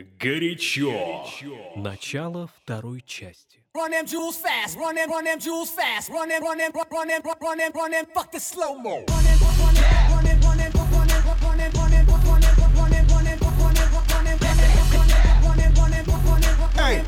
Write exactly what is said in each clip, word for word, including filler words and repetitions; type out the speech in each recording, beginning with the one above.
Горячо. Начало второй части. Run them jewels fast, run them, run them jewels fast, run them, run them, run them, run them, run them, fuck the slow mo. Run them, run them, run them, run them, run them, run them, run them, run them, run them, run them, run them, run them, run them, run them, run them, hey.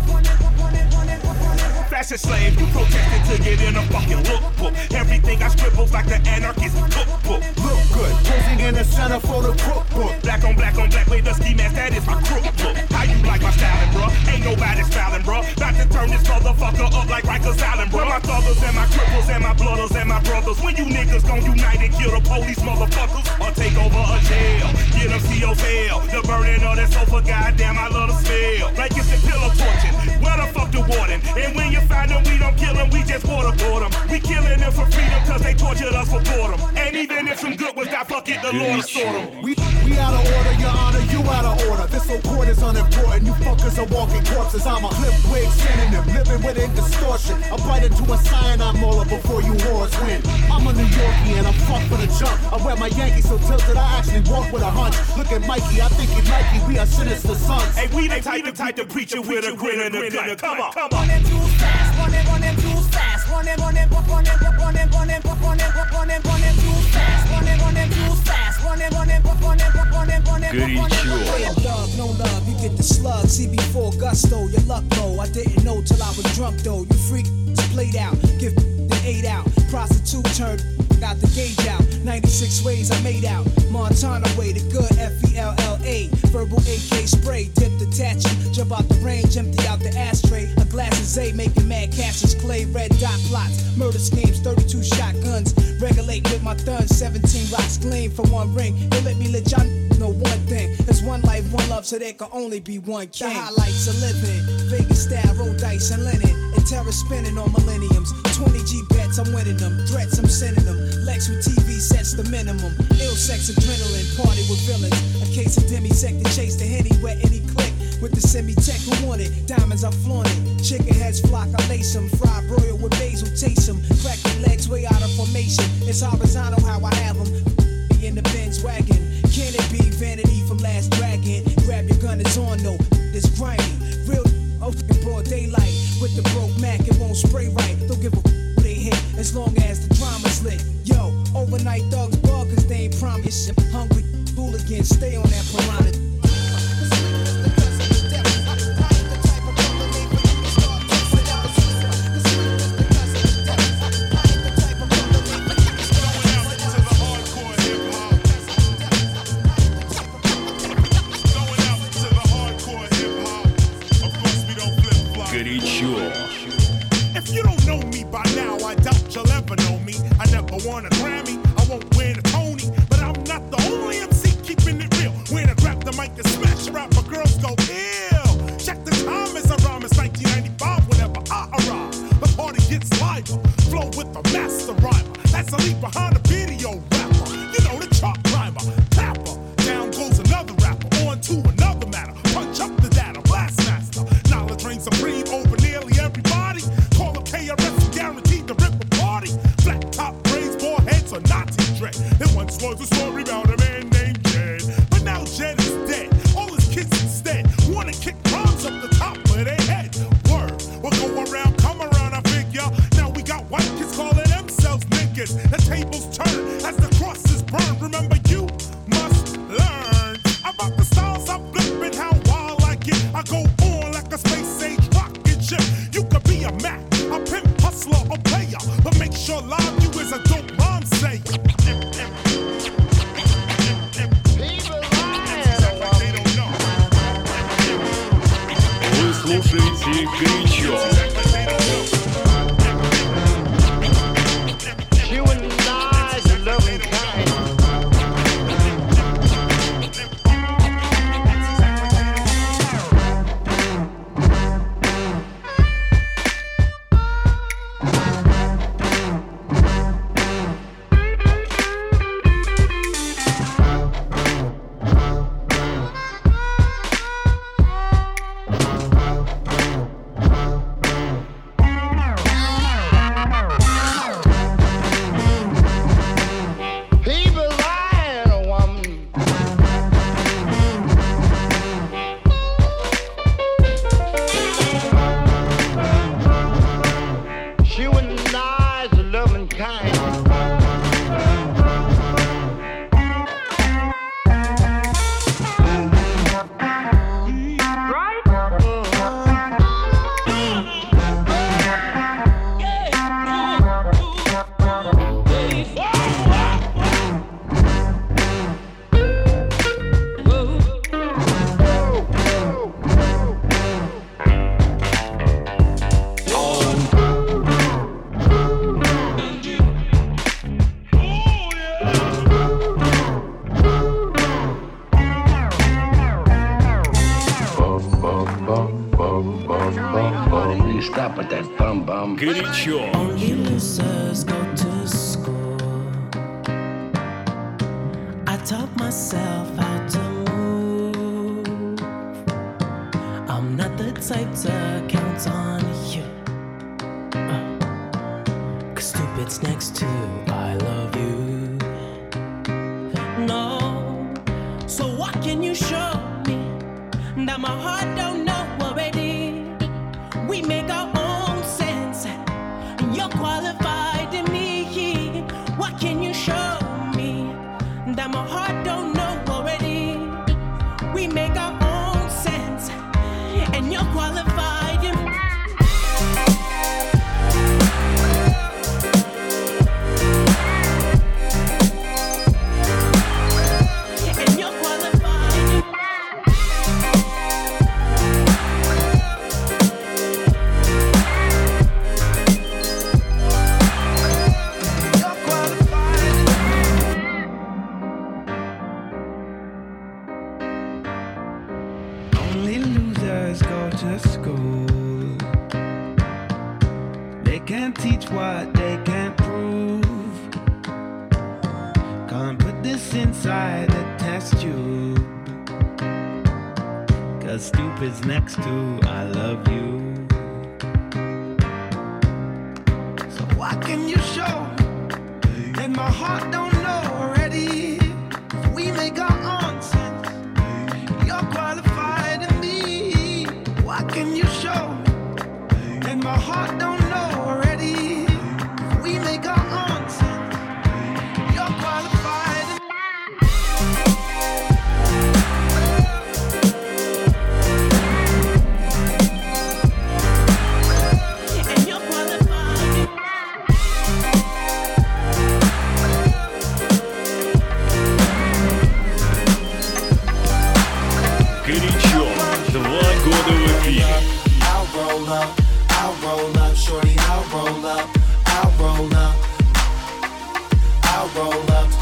Fashion slave, you protested to get in a fucking lookbook. Everything I scribbles like the anarchist cookbook. Look good, posing in the center for the cookbook. Black on black on black with the ski mask, that is my crook book. How you like my styling, bruh? Ain't nobody styling, bruh. About to turn this motherfucker up like Rikers Island, bruh. My thuggers and my cripples and my blooders and my brothers. When you niggas gon' unite and kill the police motherfuckers or take over a jail, get them C O's hell. The burning of that sofa, goddamn, I love the smell. Like it's a pillow torching. Where the fuck the warden? And when you find them, we don't kill them, we just waterboard them. We killing them for freedom cause they tortured us for boredom. And even if some good was that fuck it, the Lord sort them. We, we out of order, your honor, you out of order. This whole court is unimportant, you fuckers are walking corpses. I'm a clip wig synonym, living within distortion. I bite into a cyanide molar before you whores win. I'm a New Yorkie and I'm fucked for the jump. I wear my Yankees so tilted, I actually walk with a hunch. Look at Mikey, I think he Mikey, we are sinister sons. Hey, we the type, the type to preach it with a grin and a grin. Come on, come on. Run them jewels fast, run them, run them jewels fast, run them, run them, run them, run them, run them, run them, run them, run them jewels fast, run them, run them jewels fast, run them, run them, run them, run them, run them. Горячо. Love, no love, you get the slug. C B four gusto, your luck low. I didn't know till I was drunk though. You freak played out, give the eight out. Prostitute turned, got the gauge out. ninety-six ways I made out. Montana way, the good F E L L A. Verbal A K spray, dip the tattoo. Jump out the range, empty out the ashtray. A glass of Zay, making mad Cassius Clay. Red dot plots, murder schemes, thirty-two shotguns. Regulate with my thuns, seventeen rocks gleam for one ring. They let me let y'all know one thing. There's one life, one love, so there can only be one king. The highlights of living, Vegas style, roll dice and linen. And terror spinning on millenniums. twenty G bets, I'm winning them. Threats, I'm sending them. Lex with T V sets the minimum. Ill sex, adrenaline, party with villains. A case of demisec to chase the henny where any click. With the semi-tech who want it. Diamonds, I flaunt it. Chicken heads flock, I lace them. Fried broil with basil, taste them. Crack the legs way out of formation. It's horizontal how I have them. In the Benz wagon. Can it be vanity from Last Dragon? Grab your gun, it's on though. It's grimy. Real oh, in broad daylight. With the broke Mac, it won't spray right. Don't give a f- they hit as long as the drama's lit. Yo, overnight thugs bug cause they ain't promised. Hungry hooligans, stay on that piranha. If you don't know me by now, I doubt you'll ever know me. I never won a Grammy, I won't win a Tony, but I'm not the only M C keeping it real. When I grab the mic and smash rap, my girls go ill. Check the time as I rhyme, it's nineteen ninety-five whenever I arrive. The party gets liver, flow with the master rhymer. That's a leap behind a video rapper. You know the chart climber, tapper. Down goes another rapper, on to another matter. Punch up the data, blast master. Knowledge reigns supreme over nearly everybody. Call up K R S and guaranteed to rip a party. Flat top braids, four heads, or Nazi dread. There once was a story about a man named Jed, but now Jed is dead. All his kids instead wanna kick rhymes up the top of their head. Word, we'll go around, come around, I figure. Now we got white kids calling themselves niggas. The tables turn as the crosses burn. Remember, you must learn about the styles I flip and how wild I get. I go on like a space age rocket ship. You could be a Mac, a pimp, hustler, or player, but make sure live you is a dope rhyme sayer. Вы слушаете «Горячо». bum, bum, bum, bum, bum. You stop with that bum, bum. Горячо. Only losers go to school. I taught myself how to move. I'm not the type to count on you. Uh, Cause stupid's next to I love you. No. So what can you show me that my heart don't know already? We make our own sense. You're qualified in me. What can you show me that my heart don't know already? We make our own sense, and you're qualified in me. And you're qualified in me. Only losers go to school. They can't teach what they can't prove. Can't put this inside the test tube. Cause stupid's next to I love you. So what can you show that my heart don't know already? We make our own sense. You're qualified in me. What can you show that my heart don't know already? We make our own sense. You're qualified in And you're qualified in Горячо. Два года в эфире. I'll roll up, I'll roll up, shorty, I'll roll up, I'll roll up, I'll roll up.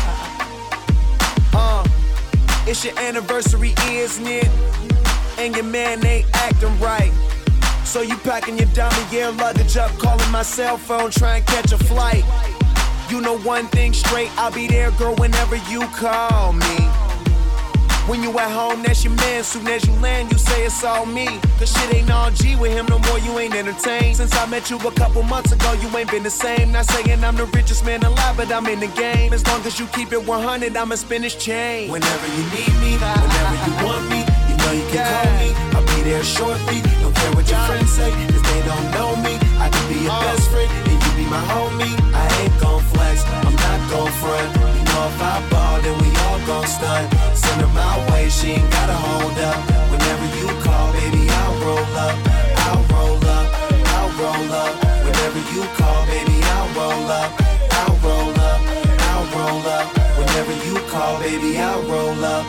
uh, it's your anniversary, isn't it? And your man ain't acting right. So you packing your Damier luggage up, calling my cell phone, trying to catch a flight. You know one thing straight, I'll be there, girl, whenever you call me. When you at home, that's your man. Soon as you land, you say it's all me. Cause shit ain't all G with him no more, you ain't entertained. Since I met you a couple months ago, you ain't been the same. Not saying I'm the richest man alive, but I'm in the game. As long as you keep it one hundred, I'ma spin this chain. Whenever you need me, whenever you want me, you know you can call me. I'll be there shortly. Don't care what your friends say, cause they don't know me. I can be your best friend, and you be my homie. I ain't gon' flex, I'm not gon' front. You know if I ball, then we all gon' stunt. Send her my way, she ain't gotta hold up. Whenever you call, baby, I'll roll up. I'll roll up, I'll roll up. Whenever you call, baby, I'll roll up. I'll roll up, I'll roll up. Whenever you call, baby, I'll roll up.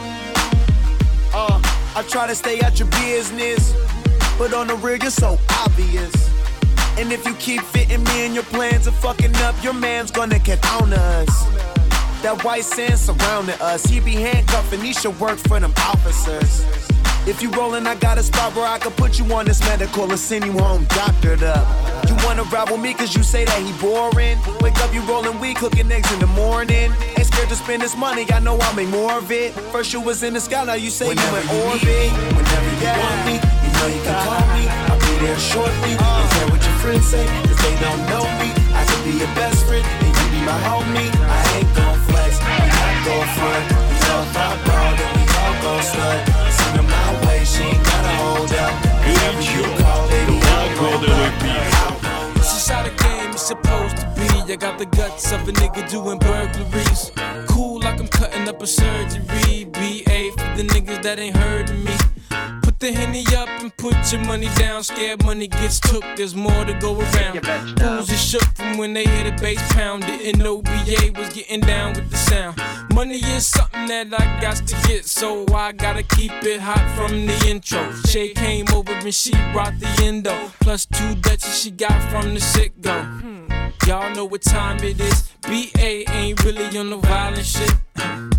Uh, I try to stay out your business, but on the real, you're so obvious. And if you keep fitting me in your plans of fucking up, your man's gonna get on us. That white sand surrounding us, he be handcuffing, he should work for them officers. If you rollin', I got a spot where I can put you on this medical and send you home doctored up. You wanna ride with me cause you say that he boring. Wake up, you rollin' weed, cooking eggs in the morning. Ain't scared to spend this money, I know I'll make more of it. First you was in the sky, now you say whenever you in orbit. Me, whenever you yeah. want me, you know you can call me. I'll be there shortly. Don't care what your friends say, cause they don't know me. I could be your best friend, and you be my homie. I ain't gon' flex, I'm not gon' front. You know if I ball, then we all gon' stunt. Send her my way, she ain't gotta hold up. Whenever you call, baby, I'll roll up. This is how the game is supposed to be. I got the guts of a nigga doing burglaries. Cool like I'm cutting up a surgery. B A for the niggas that ain't heard of me. Put the Henny up and put your money down. Scared money gets took, there's more to go around. Fools is shook from when they hear the bass pound. Didn't know B A was getting down with the sound. Money is something that I got to get, so I gotta keep it hot from the intro. Shay came over and she brought the endo. Plus two Dutchies she got from the sit-go. Y'all know what time it is. B A ain't really on no violent shit.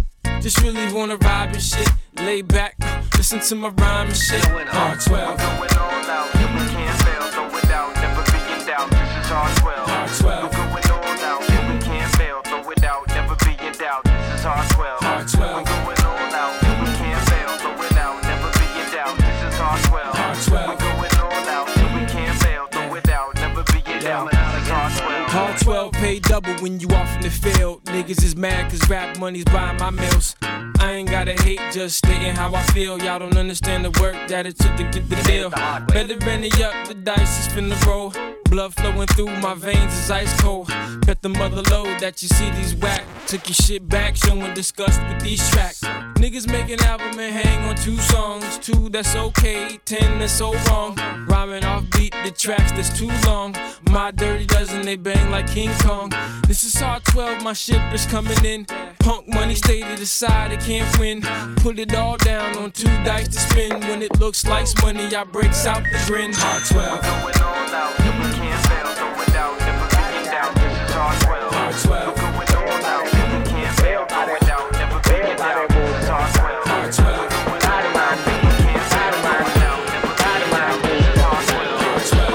Just really wanna vibe and shit. Lay back, listen to my rhyme and shit. R twelve. We're going all out, and we can't fail. Throw it out, never be in doubt. This is R twelve. R twelve. We're going all out, and we can't fail. Throw it out, never be in doubt. This is R twelve. R twelve. We're going all out, and we can't fail. Throw it out, never be in doubt. This is R twelve. R twelve. We're going all out, and we can't fail. Throw it out, never be in doubt. This is R twelve. R twelve pay double when you off in the field. Niggas is mad cause rap money's buying my meals. I ain't gotta hate, just stating how I feel. Y'all don't understand the work that it took to get the deal. Better ready up, the dice is finna roll. Blood flowing through my veins is ice cold. Bet the mother load that you see these whack. Took your shit back, showing disgust with these tracks. Niggas make an album and hang on two songs. Two that's okay, ten that's so wrong. Rhyming off beat, the tracks that's too long. My dirty dozen, they bang like King Kong. This is R twelve, my ship is coming in. Punk money stay to the side, it can't win. Put it all down on two dice to spin. When it looks like money, I breaks out the grin. R twelve. We're going all out, and we can't fail. Throw it out, never be in doubt. This is R twelve. R twelve. We're going all out, and we can't fail. Throw it out, never be in doubt. This is R twelve. R twelve. We're going all out, and we can't fail. Throw it out, never be in doubt. This is R twelve.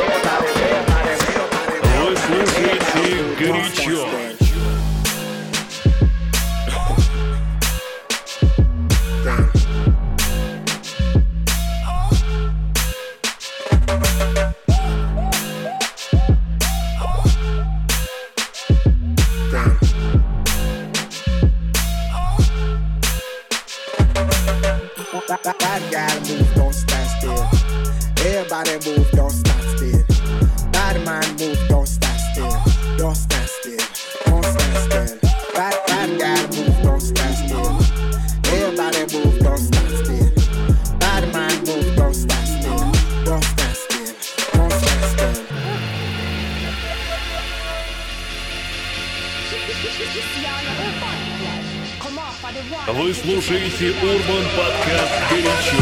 Вы слушаете горячо. Body gotta move, don't stand still. Everybody move, don't stand still. Body mind move, don't stand still. Don't stand still, don't stand still. Body, body gotta move, don't stand still. Everybody move, don't stand still. Body mind move, don't stand still. Don't stand still, don't stand still. Вы слушаете Урбан подкаст «Горячо».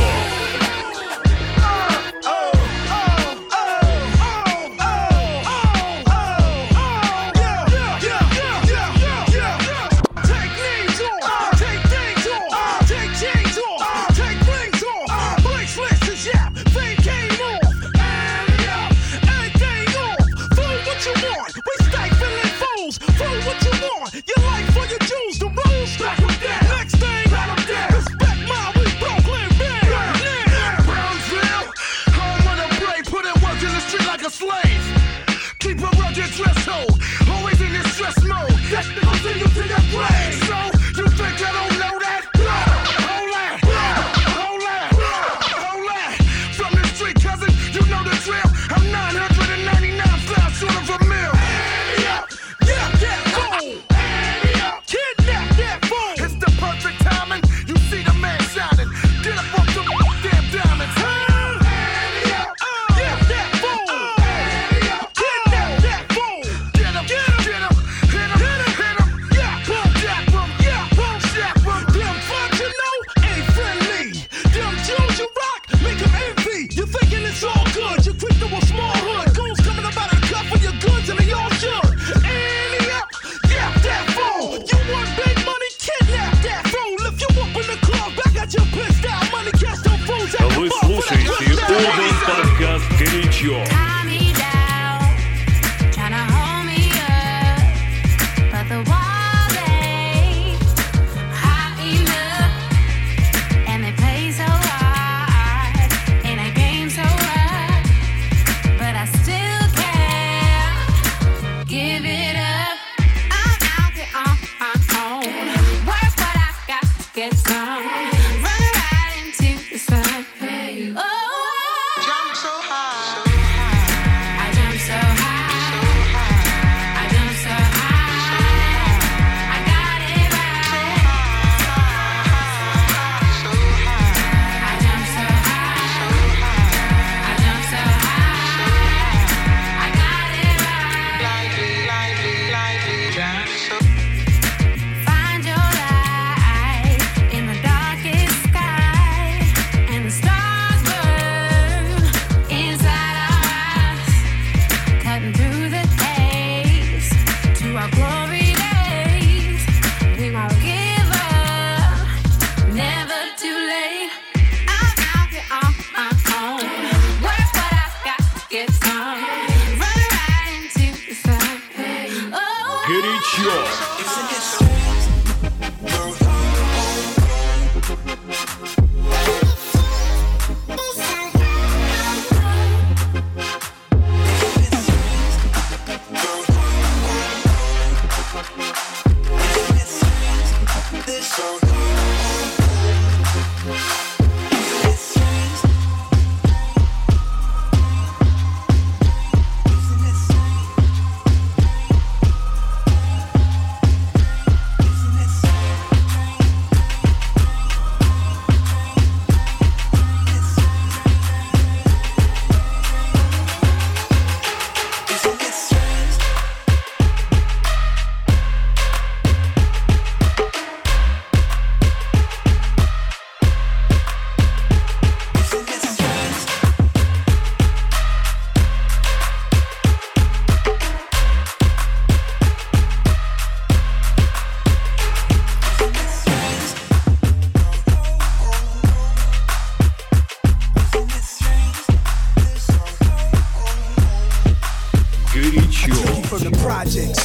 Get him, hit him, hit him, hit him.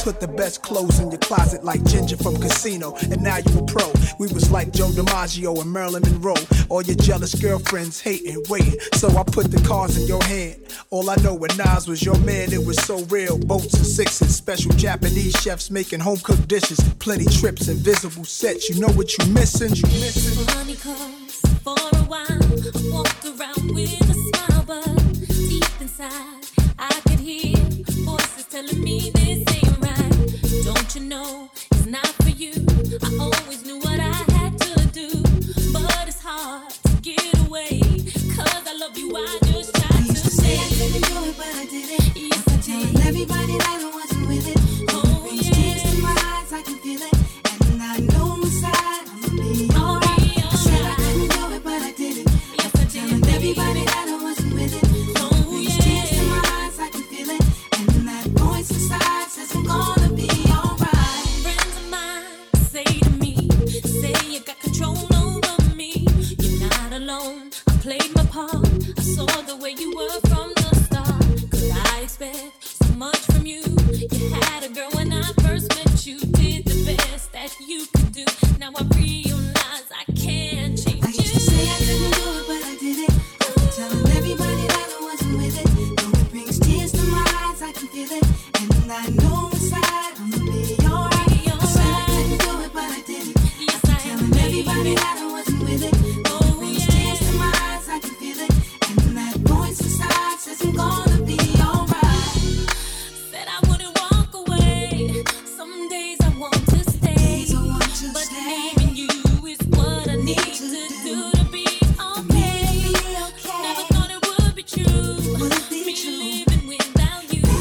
Put the best clothes in your closet like Ginger from Casino, and now you a pro. We was like Joe DiMaggio and Marilyn Monroe. All your jealous girlfriends hating, waiting. So I put the cards in your hand. All I know when Nas was your man, it was so real. Boats and sixes, special Japanese chefs making home cooked dishes. Plenty trips, invisible sets. You know what you missing? You missing? Funny cause for a while I walked around with a smile, but deep inside I could hear voices telling me this ain't right. Don't you know it's not for you? I always knew what I had to do, but it's hard to get away. Cause I love you, I just tried I used to, to say I couldn't do it, but I did it. Yes, I did. Everybody that I wasn't with it. Oh, yeah. Tears in my eyes, I can feel it. And I know inside I'ma be alright. I said I couldn't do it, but I did it. Yes, I did. Everybody that I wasn't with it. Oh, yeah. Tears in my eyes, I can feel it. And that voice inside says I'm gonna be alright. Friends of mine say to me, say you got control over me. You're not alone. I played my part. I saw the way you were from the start. Could I expect so much from you? You had a girl when I first met you. Did the best that you could do. Now I realize I can't change. I used to say I couldn't do it, but I did it. I'm telling everybody that I wasn't with it. Though it brings tears to my eyes, I can feel it. And I know inside I'ma be alright. I said I couldn't do it, but I did it. Yes, I'm telling everybody that I wasn't with it. Though it brings tears to my eyes, I can feel it. And that voice inside says I'm gonna be alright. Said I wouldn't walk away. Some days I want to stay, but leaving you is what I need to do to be okay. Never thought it would be true. Me living without you.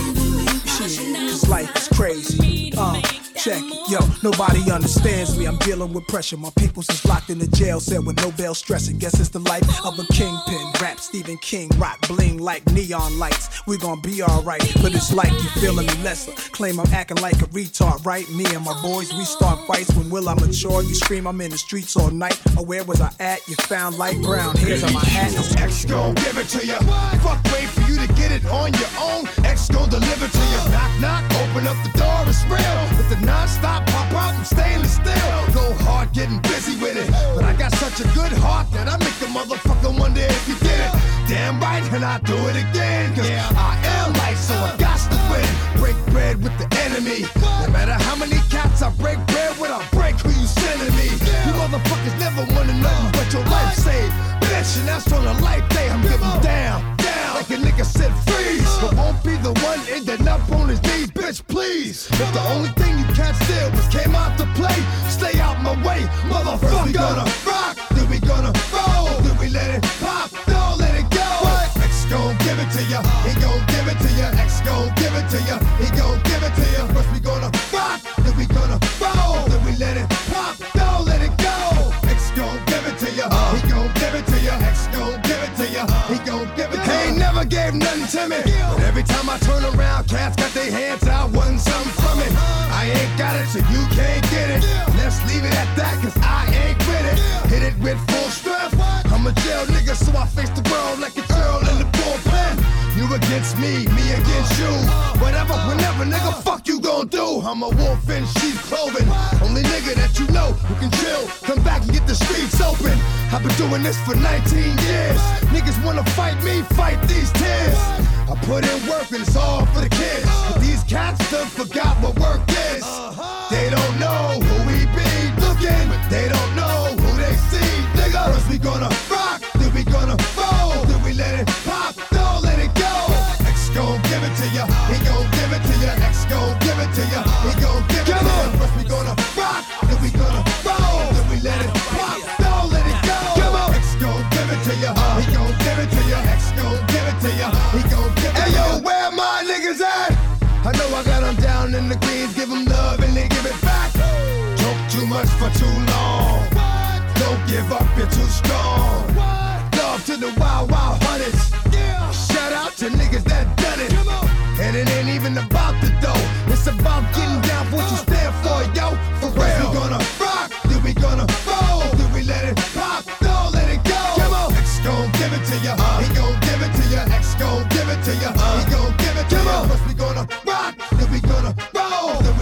This life is crazy. Uh, check it. Yo, nobody understands me. I'm dealing with pressure. My peoples is locked in the jail cell with no bail stressing. Guess it's the life of a kingpin. Rap Stephen King, rock bling like neon lights. We gon' be alright, but it's like you feeling me lesser. Claim I'm acting like a retard, right? Me and my boys, we start fights. When will I mature? You scream I'm in the streets all night. Or where was I at? You found light brown hairs on my hat. X gon' give it to you. Fuck, wait for you to get it on your own. X gon' deliver to you. Knock, knock, open up the door, it's real. With the non-stop pop out and stainless steel. Go hard getting busy with it. But I got such a good heart that I make the motherfucker wonder if you get it. Damn right, and I do it again. Cause I am life, so I got to win. Break bread with the enemy. No matter how many cats I break bread with, I break who you sending me. You motherfuckers never wanted nothing but your life saved. Bitch, and that's on a life day. I'm getting down, down like a nigga said freeze. But won't be the one ending up on his knees, bitch, please. If the only thing you can't steal was came out to play, stay out my way, motherfucker. First we gonna rock, then we gonna roll, then we let it pop, don't let it go. X gon' give it to ya, he gon' give it to ya. X gon' give it to ya, he gon' give it to ya. First we gonna rock, then we gonna roll, then we let it pop, don't let it go. X gon' give it to ya, he gon' give it to ya. X gon' give it to ya, he gon' give it to ya. He ain't never gave nothing to me, but every time I turn around, cats got their hands out, wanting something from it. I ain't got it, so you can't get it. Let's leave it at that, cause I ain't with it. Hit it with full strength. I'm a jail nigga, so I face the world like a girl in the bullpen. You against me, me against you. Whatever, whenever, nigga, fuck you gon' do. I'm a wolf in sheep's clothing. Only nigga that you know who can chill. Come back and get the streets open. I've been doing this for nineteen years. Niggas wanna fight me, fight these tears. I put in work and it's all for the kids. But these cats done forgot what work is. They don't know who we be looking, but they don't know who they see, nigga. First we gonna rock, then we gonna roll, then we let it pop, don't let it go. X gon' give it to ya, he gon' give it to ya. X gon' give it to ya, he gon' give it to ya. First we gonna rock, then we gonna roll, then we let it pop, don't let it go. X gon' give it to ya, he gon' give it to ya. X gon' give it to ya, he gon' give it to ya. Hey yo, where my niggas at? I know I got them down in the greens, give them love and they give it back. Talk too much for too long. Don't give up, you're too strong. Love to the wild, wild hunters. Shout out to niggas that done it. And it ain't even about the dough. It's about getting down for what you stand for, yo. For real. We gonna rock, then we gonna roll, then we let it pop, don't let it go. X gon' give it to ya, he gon' give it to ya. X gon' give it to ya, he gon' give it to ya. First we gonna rock, then we gonna roll, then we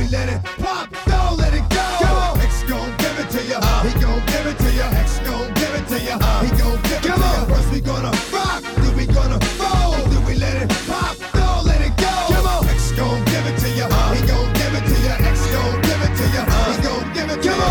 let it pop, don't let it go. X gon' give it to ya, he gon' give it to ya. X gon' give it to ya, he gon' give it to ya. First we gonna rock, then we gonna roll, then we let it pop, don't let it go. X gon' give it to ya, he gon' give it to ya. X gon' give it to ya, he gon' give it to ya.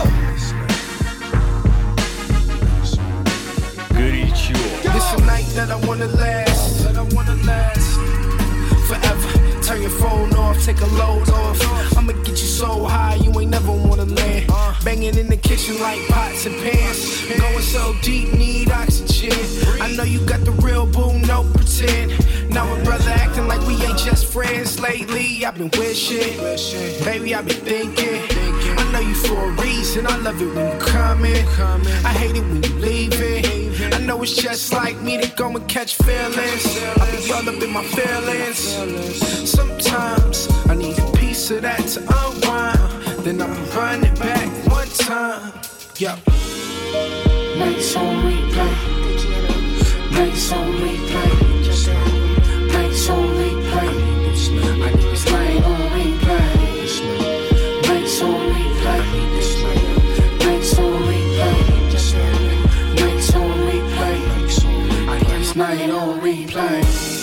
Горячо. It's a night that I wanna last, that I wanna last forever. Turn your phone off, take a load off. I'ma get you so high, you ain't never wanna land. Banging in the kitchen like pots and pans. Going so deep, need oxygen. I know you got the real boo, no pretend. Now a brother acting like we ain't just friends. Lately, I've been wishing, baby, I've been thinking. I know you for a reason, I love it when you come in. I hate it when you leave it. I know it's just like me to go and catch feelings. I be all up in my feelings. Sometimes I need a piece of that to unwind. Then I'ma run it back one time. Yo. Nights on replay. Nights on replay. Nights on replay. I need this night on replay. Nights on replay. Nights on replay. Nights on replay. I need this night on replay.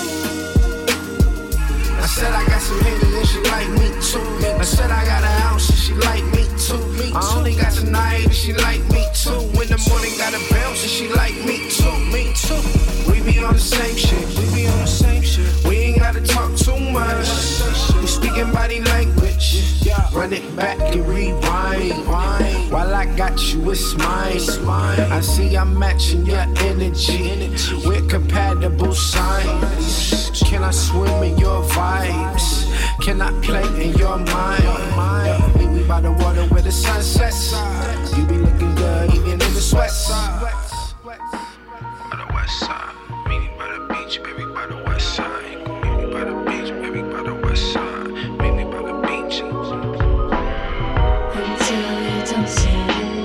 I said I got some haters and she like me too. I said I got a house and she like me too. I only got tonight and she like me too. In the morning got a bounce and she like me too. Me too. We be on the same shit. We be on the same shit. We ain't gotta talk too much. We speaking body language. Run it back and rewind. While I got you, it's mine. I see I'm matching your energy. We're compatible signs. Can I swim in your vibes? Can I play in your mind? Meet me by the water where the sun sets. You be looking good even in the sweats. By the west side, meet me by the beach, baby, by the west side. Meet me by the beach, baby, by the west side. Meet me by the beach. Until you don't see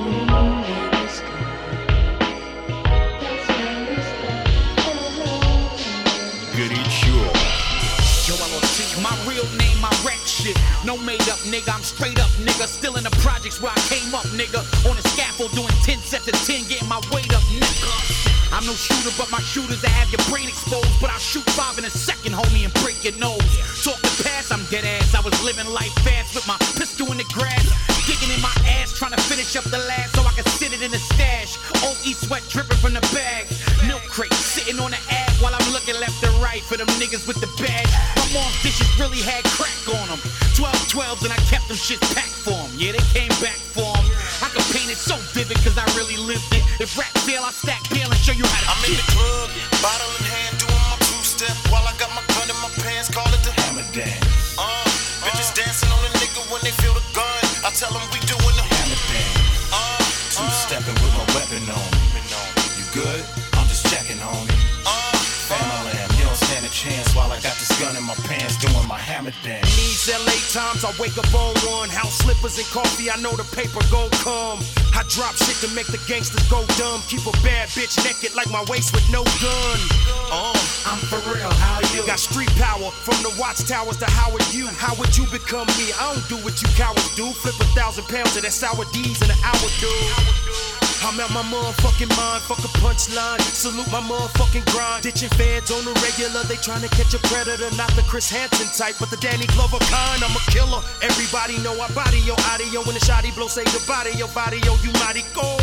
Горячо. Yo, I will see my real name, my rap shit. No made up, nigga. I'm straight up, nigga. Still in the projects where I came up, nigga. On the scaffold doing ten sets of ten, getting my weight up, nigga. I'm no shooter, but my shooters that have your brain exposed. But I'll shoot five in a second, homie, and break your nose. Talk the past, I'm dead ass. I was living life fast with my pistol in the grass. Digging in my ass, trying to finish up the last so I can sit it in the stash. Old East sweat dripping from the bag. Milk crate sitting on the ab while I'm looking left and right for them niggas with the bag. My mom's dishes really had crack on them. twelve twelves and I kept them shit packed for them. Yeah, they came back for them. I could paint it so vivid cause I really lived it. If rap fail, I stack bail and show you how to I'm in the club, bottle in hand, doing my two-step while I got my gun in my pants, call it the hammer dance. Uh, bitches dancing on a nigga when they feel the gun. I tell them we doing the hammer dance. Uh, two-stepping with my weapon on me. You good? I'm just checking, homie. Uh, Family, you don't stand a chance while I got this gun in my pants doing my hammer dance. These L A times, I wake up on one. House slippers and coffee, I know the paper gon' come. I drop shit to make the gangsters go dumb. Keep a bad bitch naked like my waist with no gun. Uh, I'm for real, how you? Got street power from the watchtowers to Howard U. How would you become me? I don't do what you cowards do. Flip a thousand pounds of that sour D's in an hour, dude. I'm at my motherfucking mind, fuck a punchline. Salute my motherfucking grind. Ditching feds on the regular, they trying to catch a predator. Not the Chris Hansen type, but the Danny Glover kind. I'm a killer. Everybody know I body your audio. When the shotty blow, say goodbye to your body, yo, you mighty cold.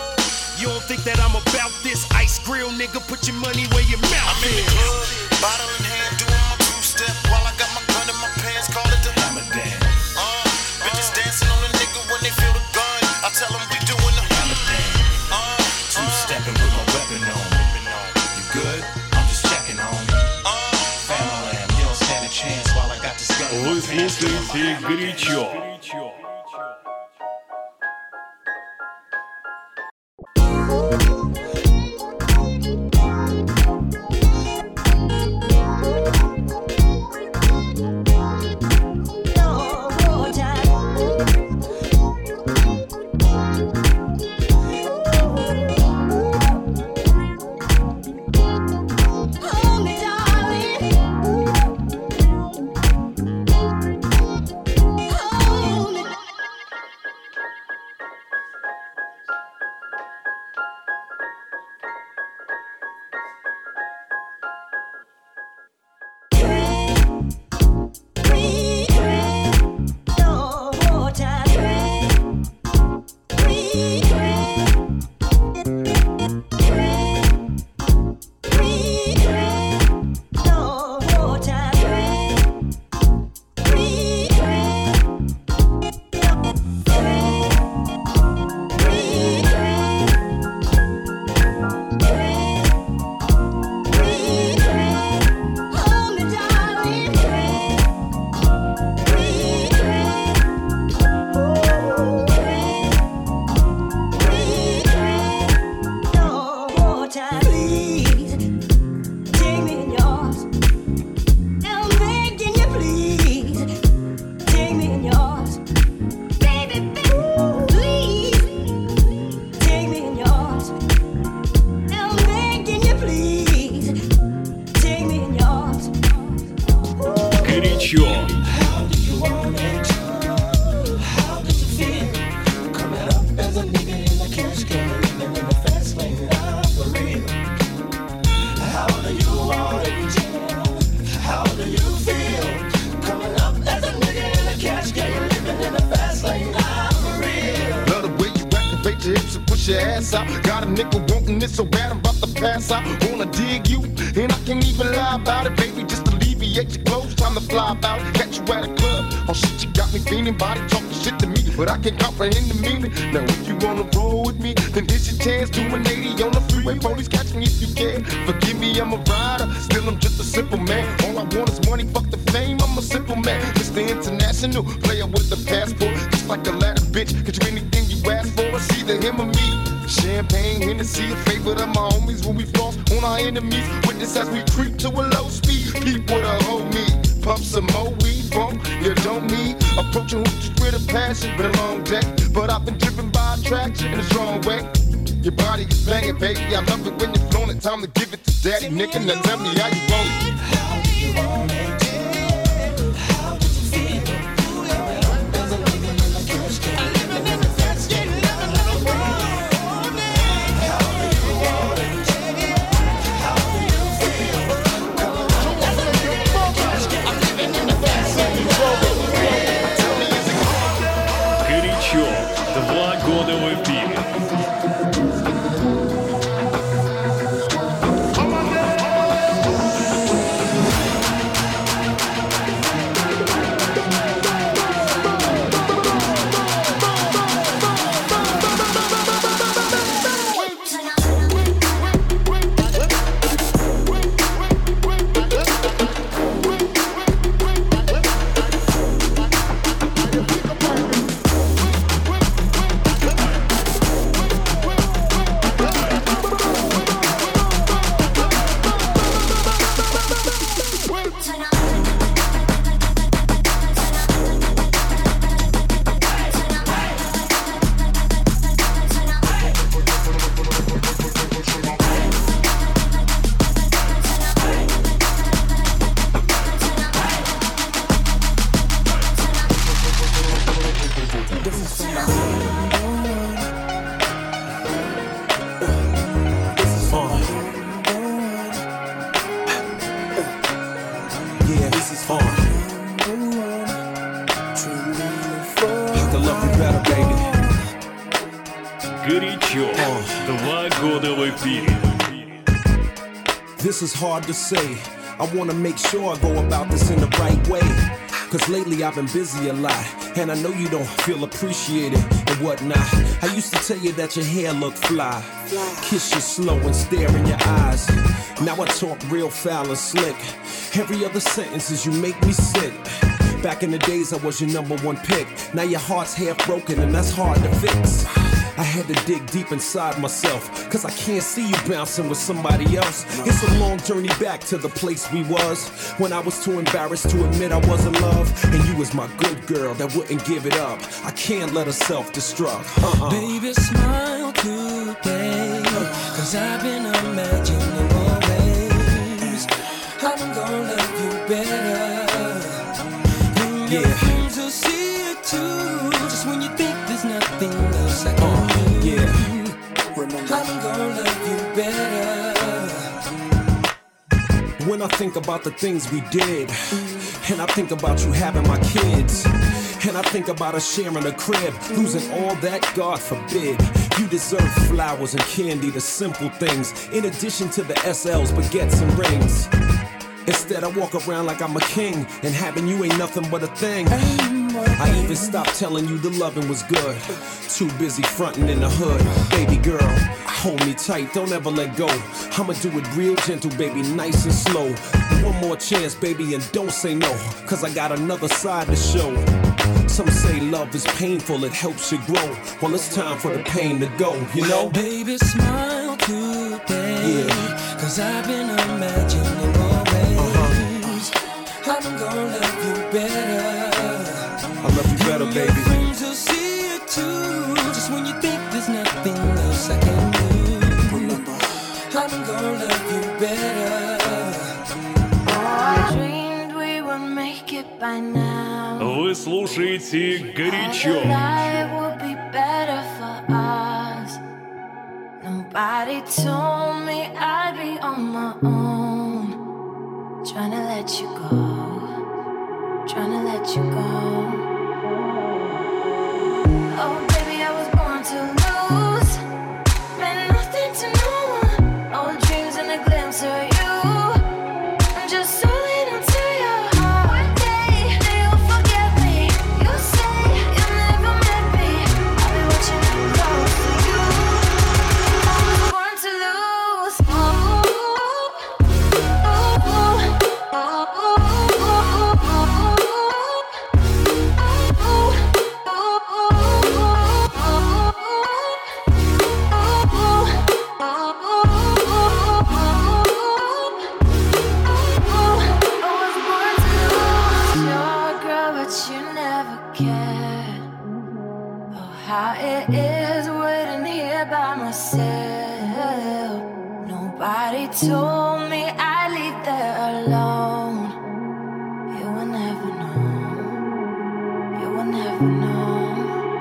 You don't think that I'm about this ice grill, nigga? Put your money where your mouth I'm is. in the club, bottle in hand, doing my two-step while I got my gun in my pants, call it the hammer dance. Uh, bitches dancing on a nigga when they feel the gun. I tell them we doing the hammer dance. Uh, two-stepping with my weapon on me. You good? I'm just checking, homie. Uh, Family, you don't stand a chance while I got this gun in Вы my pants doing my слушаете hammer dance. горячо. Oh want? How do you feel? Coming up as a nigga in a cash game, living in a fast lane. I'm for real. Love the way you activate your hips and push your ass out. Got a nigga wanting it so bad I'm about to pass out. Wanna dig you, and I can't even lie about it, baby. Just alleviate your clothes, time to fly about. Catch you at a club, oh shit, you got me feeling. Body talking shit to me, but I can't comprehend the meaning. Now if you wanna roll with me, then this your chance. Do an eighty on the freeway, police catch me if you can. Forgive me, I'm a rider, still I'm just a simple man. All I want is money, fuck the fame, I'm a simple man. Mister International, player with the passport. Just like a ladder, bitch, get you anything you ask for. It's either him or me. Champagne, Hennessy, a favorite of my homies. When we floss on our enemies, witness as we creep to a low speed. Peep with a hoe me, pump some more weed, bump, you don't need. Approaching hoops with a passion, been a long day, but I've been driven by attraction in a strong way. Your body is banging, baby, I love it when you're flown it. Time to give it to daddy, nigga, now tell me how you want it. How do you want it? How do you feel? Coming up as a nigga in a cash game, living in a fast game, living in a world. How do you want it? How do you feel? Coming up as a nigga in a cash game, I'm living in a fast game. Горячо. Два года в эфире. Горячо. Два года в эфире. This is hard to say. I wanna make sure I go about this in the right way. Cause lately I've been busy a lot, and I know you don't feel appreciated and whatnot. I used to tell you that your hair looked fly, kiss you slow and stare in your eyes. Now I talk real foul and slick. Every other sentence is you make me sick. Back in the days I was your number one pick. Now your heart's half broken and that's hard to fix. I had to dig deep inside myself, cause I can't see you bouncing with somebody else. It's a long journey back to the place we was, when I was too embarrassed to admit I was in love. And you was my good girl that wouldn't give it up. I can't let her self-destruct. Uh-uh. Baby, smile today, cause I've been imagining always I'm gonna love you better. And your Yeah. friends will see it too, just when you think there's nothing else I can Uh, do. yeah. I'm gonna love you better. When I think about the things we did, and I think about you having my kids, and I think about us sharing a crib, losing all that, God forbid. You deserve flowers and candy, the simple things, in addition to the S Ls, baguettes and rings. Instead I walk around like I'm a king, and having you ain't nothing but a thing. I even stopped telling you the loving was good, too busy fronting in the hood. Baby girl, hold me tight, don't ever let go. I'ma do it real gentle, baby, nice and slow. One more chance, baby, and don't say no, cause I got another side to show. Some say love is painful, it helps you grow. Well, it's time for the pain to go, you know? Baby, smile today, Yeah. cause I've been imagining always I'm gonna love you better. I love you better, Your baby. friends will see it too, just when you think there's nothing else I can do. I'm gonna love you better. I dreamed we would make it by now. Вы слушаете «Горячо». Life would be better for us. Nobody told me I'd be on my own. let you go, trying to let you go. Oh, baby, I was born to lose. Meant nothing to no one. Old dreams and a glimpse of you. I'm just solid until your heart. One day, you'll forget me. You say you never met me. I'll be watching you close to you. I was born to lose. Ooh, ooh, ooh, ooh, ooh, ooh, ooh. How it is waiting here by myself. Nobody told me I'd leave there alone. You will never know. You will never know.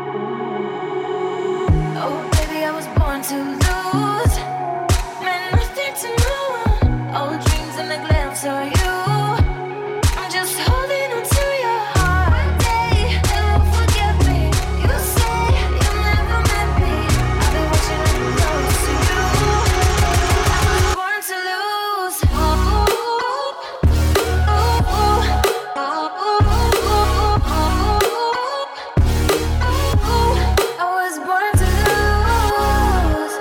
Oh, baby, I was born to lose. Meant nothing to no one. Old dreams and a glimpse of you. I'm just holding on to your heart. One day, you'll forget me. You say you never met me. I'll be watching you close to you. I was born to lose. Ooh, ooh, ooh, ooh, ooh, ooh. I was born to lose.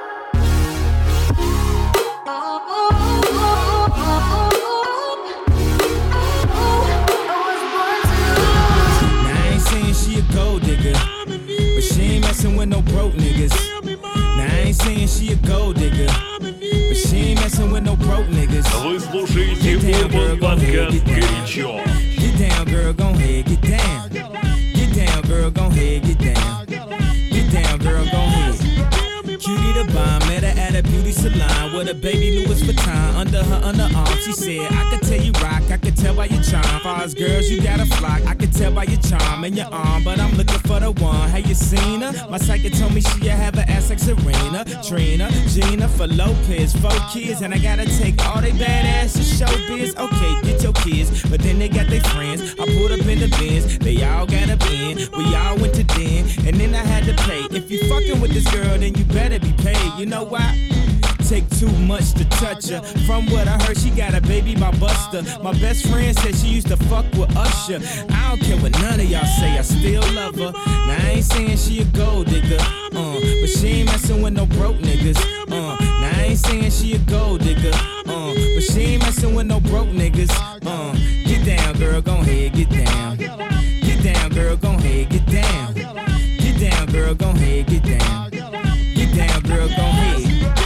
Now I ain't saying she a gold digger, but she ain't messing with no broke niggas. Now I ain't saying she a gold digger, but she ain't messing with no broke niggas. Вы слушаете Urban подкаст «Горячо». Get down, girl, gon' head, get down. Get down, girl, gon' head, get down. Get down, girl, gon' head. Cutie the bomb, met her at a beauty salon with a baby Louis Vuitton under her underarm. She said, I could tell you rock, I could tell by your charm. Far as girls, you got a flock, I could tell by your charm and your arm. But I'm looking for the one, have you seen her? My psychic told me she have an ass like Serena, Trina, Gina, for Lopez, four kids. And I gotta take all they badass to showbiz. Okay, get your kids, but then they got their friends. I pulled up in the Benz, they all got a bin. We all went to den, and then I had to pay. If you fucking with this girl, then you better be paid. You know why? Take too much to touch her. From what I heard, she got a baby by Buster. My best friend said she used to fuck with Usher. I don't care what none of y'all say, I still love her. Now I ain't saying she a gold digger, uh, but she ain't messing with no broke niggas. Uh, now I ain't saying she a gold digger, uh, but she ain't messing with no broke niggas. Uh, get down, girl, gon' head, get down. Get down, girl, gon' head, get down. Get down, girl, gon' head, get down. Get down, girl, gon' head.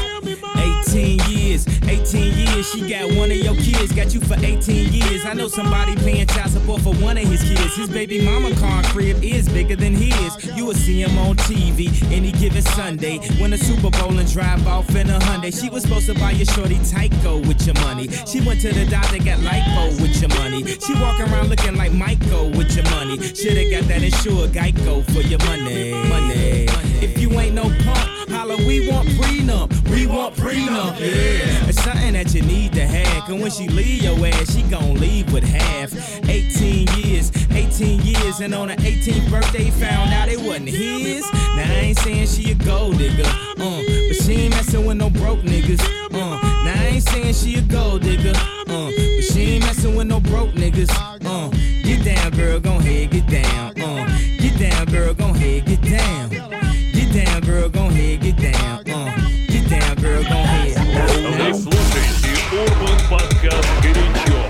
eighteen years, eighteen years, she got one of your kids, got you for eighteen years. I know somebody paying child support for one of his kids. His baby mama car crib is bigger than his. You will see him on T V any given Sunday. Win a Super Bowl and drive off in a Hyundai. She was supposed to buy your shorty Tyco with your money. She went to the doctor, got lipo with your money. She walking around looking like Michael with your money. Shoulda got that insured Geico for your money. Money. If you ain't no punk, holla, we want prenup. We want prenup. Yeah, it's something that you need to have. Cause when she leave your ass, she gon' leave with half. eighteen years, eighteen years, and on her eighteenth birthday, found out it wasn't his. Now I ain't saying she a gold digger, uh, but she ain't messing with no broke niggas. Uh, now I ain't saying she a gold digger, uh, but she ain't messing with no broke niggas. Uh, get down, girl, gon' head, get down. Uh, get down, girl, gon' head, get down. Get down, girl, gon' head, get down. Uh, get down, girl, gon' head. Вы слушаете Urban подкаст «Горячо».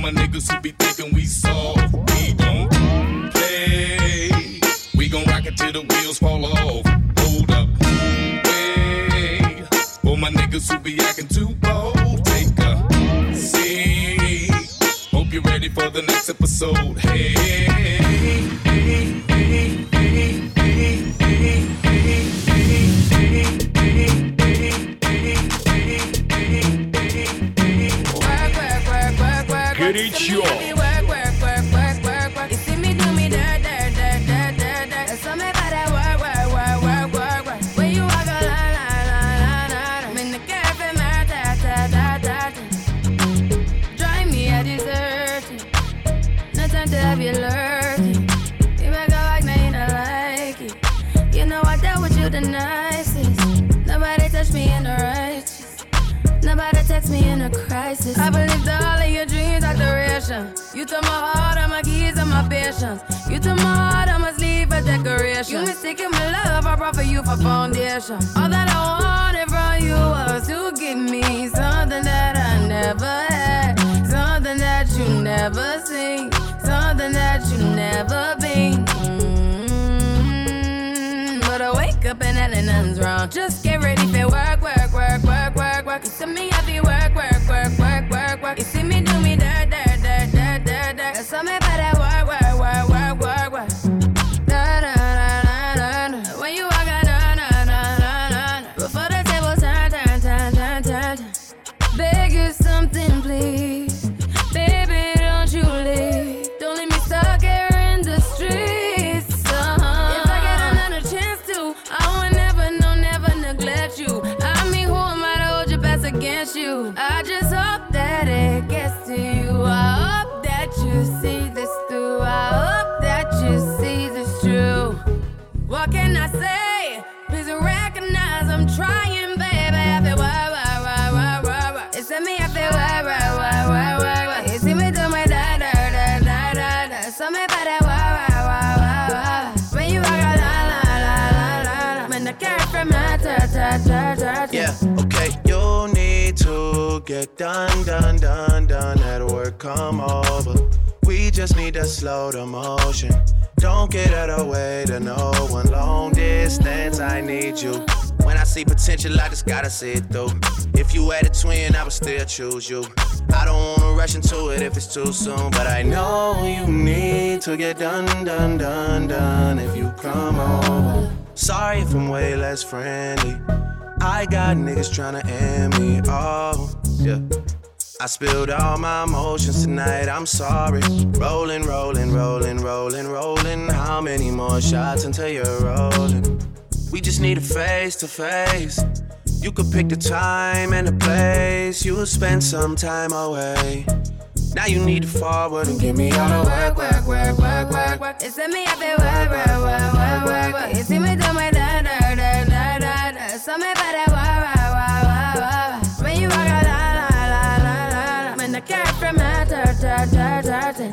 my niggas who be thinking we soft. We don't play. We gon' rock it till the wheels fall off. Hold up, wait. For my niggas who be acting too bold, take a seat. Hope you're ready for the next episode. Hey, hey, hey, hey, hey, hey, hey, Горячо. The nicest. Nobody touched me in the righteous. Nobody text me in a crisis. I believed all of your dreams are duration. You took my heart, all my keys, and my patience. You took my heart, I must leave a decoration. You mistaken my love, I brought for you for foundation. All that I wanted from you was to give me something that I never had, something that you never seen, something that you never been. But I wake up and hell nothing's wrong. Just get ready for work, work, work, work, work, work. You see me happy work, work, work, work, work, work. You see me do me dirt, dirt, dirt, dirt, dirt, dirt. That's all me about that work, work, work, work, work, work. Da da da da da da. When you walk out, da da da da da. Before the table turn, turn, turn, turn, turn, turn. Beg you something, please, baby, don't you leave. Don't leave me stuck here in the streets. Against you, I just hope that it gets to you. I hope that you see this through. I hope that you see this true. What can I say? Please recognize I'm trying, baby. I feel why, why, why, why, why, why. It's me, I feel why, why, why, why, why, why. You see me do my da, da, da, da, da, da. So me by that why, why, why, why, why. When you walk out, la, la, la, la, la, la. When the carrot from my ta, ta, ta, ta, ta. Yeah, okay, you need to get done, done, done, done. At work, come over. We just need to slow the motion. Don't get out of the way to no one. Long distance, I need you. When I see potential, I just gotta see it through. If you had a twin, I would still choose you. I don't wanna rush into it if it's too soon, but I know you need to get done, done, done, done. If you come over. Sorry if I'm way less friendly. I got niggas tryna end me, oh, yeah. I spilled all my emotions tonight, I'm sorry. Rolling, rolling, rolling, rolling, rolling. How many more shots until you're rolling? We just need a face to face. You could pick the time and the place. You'll spend some time away. Now you need to forward and give me all the work, work, work, work, work, work. It's me, I feel work, work, work, work, work, work. You see me do my da, da, da, da, da, da. So me by that wah, wah, wah, wah, wah. When you walk out, la, la, la, la, la, la. When the carrot from my ta, ta, ta, ta, ta.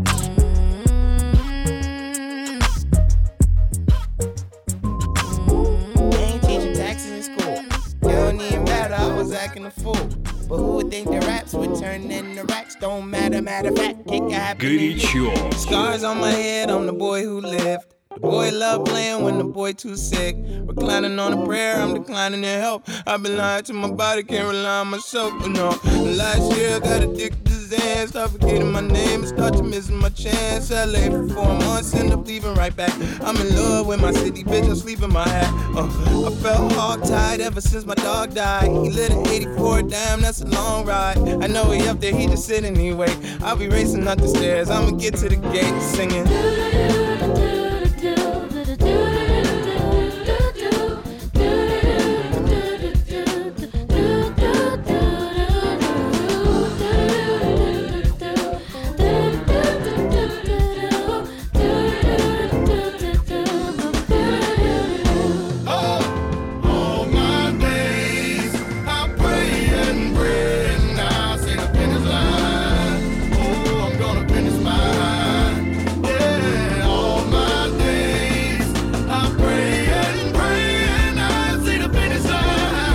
They ain't teaching taxes in school. It don't even matter, I was acting a fool. But who would think the raps would turn into racks? Don't matter, matter of fact, it can happen. Горячо. Scars on my head, I'm the boy who lived. The boy love playing when the boy too sick. Reclining on a prayer, I'm declining their help. I've been lying to my body, can't rely on myself. But no, last year I got addicted to Zan. Start forgetting my name and start to missing my chance. L A for four months, end up leaving right back. I'm in love with my city, bitch, I sleep in my hat. Uh, I felt hog-tied ever since my dog died. He lit an eighty-four, damn, that's a long ride. I know he up there, he just sit anyway. I'll be racing up the stairs, I'ma get to the gate singing.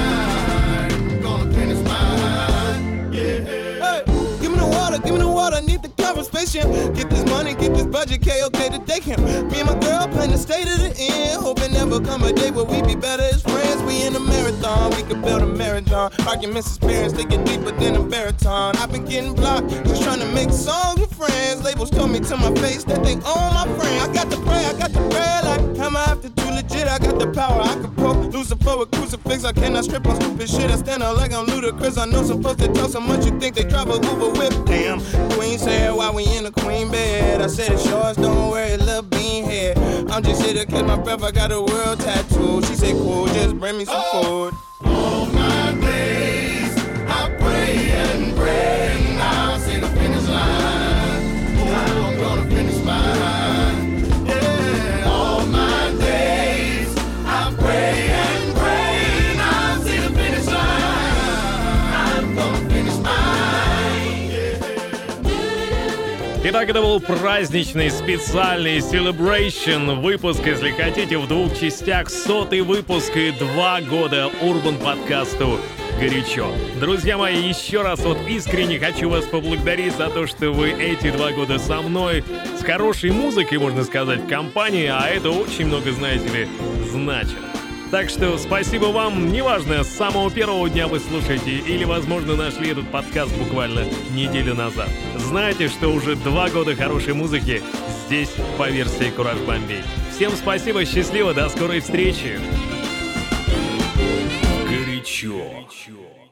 Give me the water, vacation. Get this money, get this budget, K-OK to day camp. Me and my girl plan to stay to the end. Hoping never come a day where we be better as friends. We in a marathon, we could build a marathon. Arguments experience, they get deeper than a baritone. I've been getting blocked, just trying to make songs with friends. Labels told me to my face that they own my friend. I got the pray, I got the pray, like, am I have to do legit? I got the power, I could poke Lucifer with crucifix. I cannot strip on stupid shit. I stand out like I'm ludicrous. I know some folks that talk so much you think they drive a Uber whip. Damn, Queen said why we in the queen bed. I said it's yours, don't worry, little bean head. I'm just here to catch my breath. I got a world tattoo. She said cool, just bring me some food. All my days I pray and pray, and I'll see the finish line. I'm gonna finish mine. Yeah, all my days I pray and pray, and I'll see the finish line. I'm gonna finish mine. Итак, это был праздничный специальный celebration выпуск, если хотите, в двух частях, сотый выпуск и два года Urban подкасту «Горячо». Друзья мои, еще раз вот искренне хочу вас поблагодарить за то, что вы эти два года со мной, с хорошей музыкой, можно сказать, в компании, а это очень много, знаете ли, значит. Так что спасибо вам, неважно, с самого первого дня вы слушаете или, возможно, нашли этот подкаст буквально неделю назад. Знайте, что уже два года хорошей музыки здесь по версии Кураж Бомбей. Всем спасибо, счастливо, до скорой встречи. Горячо.